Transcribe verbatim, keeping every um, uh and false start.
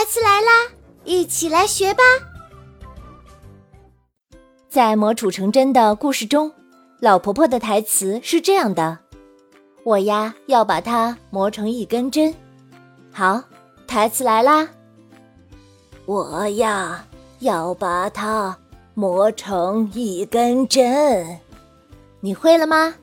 台词来啦，一起来学吧。在磨杵成针的故事中，老婆婆的台词是这样的：我呀要把它磨成一根针。好，台词来啦。我呀要把它磨成一根针。你会了吗？